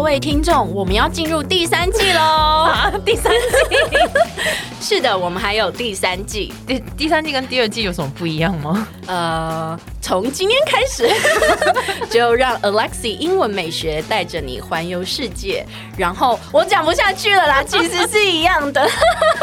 位聽眾，我們要進入第3季嘍！第3季，是的，我們還有第3季。 第3季跟第2季有什麼不一樣嗎？ 從今天開始，就讓 Alexi 英文美學帶着你環遊世界。然後我講不下去了啦，其實是一樣的，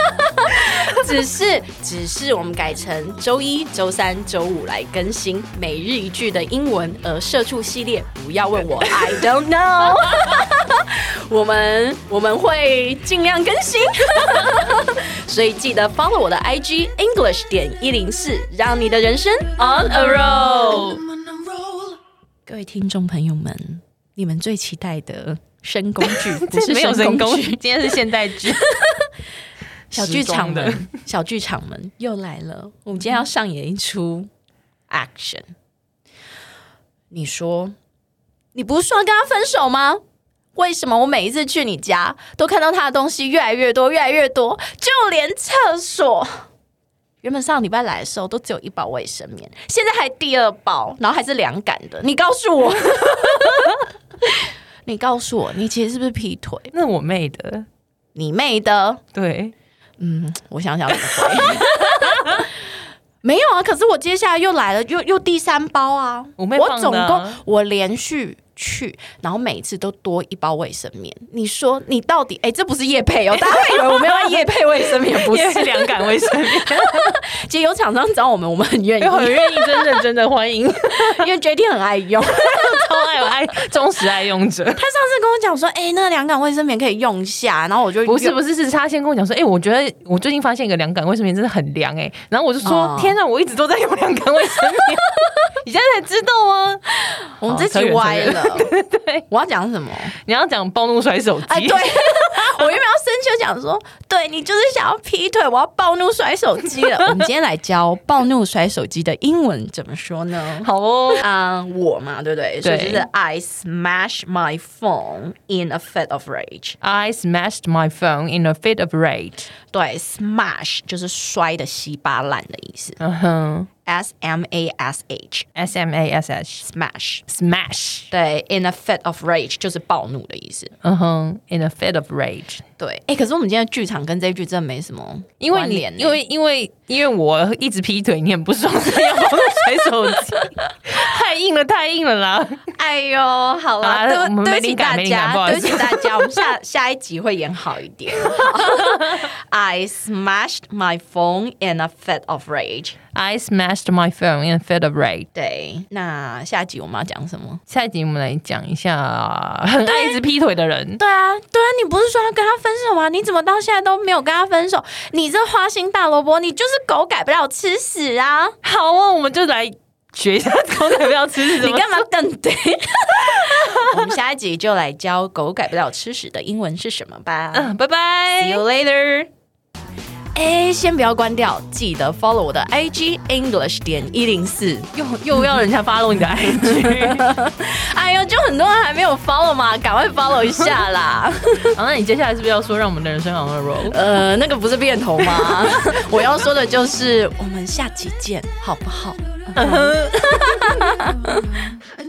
只是我們改成週1、週3、週5來更新每日一句的英文，而社畜系列不要問我 I don't know 我們會盡量更新所以記得 follow 我的 IG English.104，讓你的人生 on a roll。 各位聽眾朋友們，你們最期待的深工剧不是深工剧， 今天是現代剧小剧場们又来了。我们今天要上演一出 action。 你說你不是說要跟他分手嗎？為什麼我每一次去你家都看到他的東西越來越多，就連廁所，原本上禮拜來的時候都只有1包衛生棉，現在還第2包，然後還是2桿的。你告訴我你告訴我，你其實是不是劈腿？ 那我妹的。 你妹的？ 對， 我想想怎麼回沒有啊，可是我接下來又來了，又第3包啊。我總共我連續去，然後每一次都多1包衛生棉。你說你到底这不是业配哦，大家會以為我們要業配衛生棉，不是 2桿衛生棉。 其實有廠商找我們很願意， 真的歡迎， 因為 JT 很愛用， 超愛忠實愛用者。他上次跟我講說，那2桿衛生棉可以用一下，然後我就不是，是他先跟我講說，我覺得我最近發现一個2桿衛生棉真的很涼然後我就說，天哪，我一直都在用2桿衛生棉，你現在才知道嗎？ 我們這集歪了。 對， 我要講什麼？ 你要講暴怒摔手機。 對，我原本要生氣，就講說，對，你就是想要劈腿，我要暴怒摔手機了。我們今天來教暴怒摔手機的英文怎麼說呢？ 好哦， 我嘛，對不對？所以就是 I smashed my phone in a fit of rage. I smashed my phone in a fit of rage. 對 ，smash 就是摔的稀巴爛的意思。S-M-A-S-H smash 對 in a fit of rage 就是暴怒的意思。 in a fit of rage 對。可是我們今天的劇場跟這一句真的沒什麼關聯。 因為我一直劈腿，你很不爽，要暴怒摔手機太硬了啦。 哎呦，好啦，對不起大家，我們下一集會演好一點。I smashed my phone in a fit of rage. I smashed my phone in a fit of rage. 對，那下一集我們要講什麼？ 下一集我們來講一下很愛一直劈腿的人。 對啊，你不是說要跟他分手嗎？你怎麼到現在都沒有跟他分手？你這花心大蘿蔔，你就是狗改不了吃屎啊！好啊， 我們就來學一下狗改不了吃屎。 你幹嘛瞪對？我們下一集就來教狗改不了吃屎的英文是什麼吧。 拜拜 See you later。先不要關掉，記得 follow 我的 IG English.104。 又要人家 follow 你的 IG。 哎呦，就很多人還沒有 follow 嘛，趕快 follow 一下啦。 好，那你接下來是不是要說讓我們的人生 on a roll？ 那個不是變頭嗎？我要說的就是我們下期見，好不好？